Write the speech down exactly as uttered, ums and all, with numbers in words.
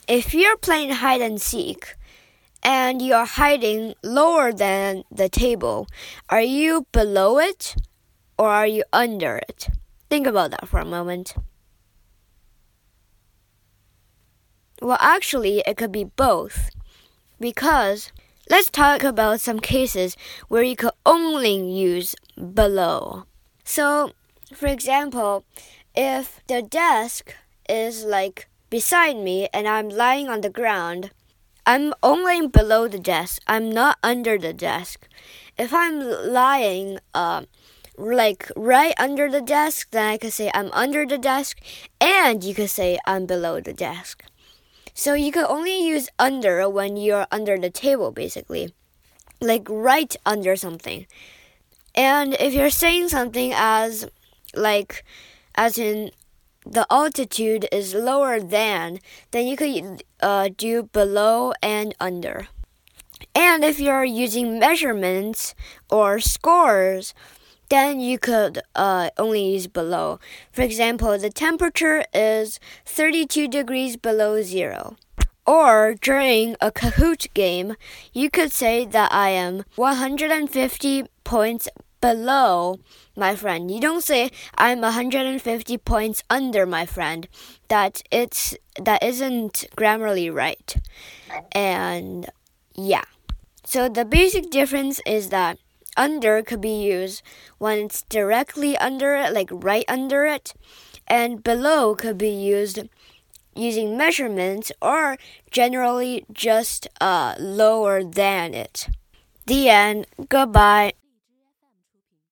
if you're playing hide and seek and you're hiding lower than the table, are you below it or are you under it? Think about that for a moment. Well, actually, it could be both, because let's talk about some cases where you could only use below. So, for example, if the desk is like beside me and I'm lying on the ground, I'm only below the desk. I'm not under the desk. If I'm lying uh, like right under the desk, then I could say I'm under the desk, and you could say I'm below the desk. So you could only use under when you're under the table, basically, like right under something. And if you're saying something as like as in the altitude is lower than, then you could uh, do below and under. And if you're using measurements or scores, then you could uh, only use below. For example, the temperature is thirty-two degrees below zero. Or during a Kahoot game, you could say that I am one hundred fifty points below my friend. You don't say I'm one hundred fifty points under my friend. That it's that isn't grammarly right. And yeah. So the basic difference is that under could be used when it's directly under it, like right under it, and below could be used using measurements or generally just uh, lower than it. The end. Goodbye.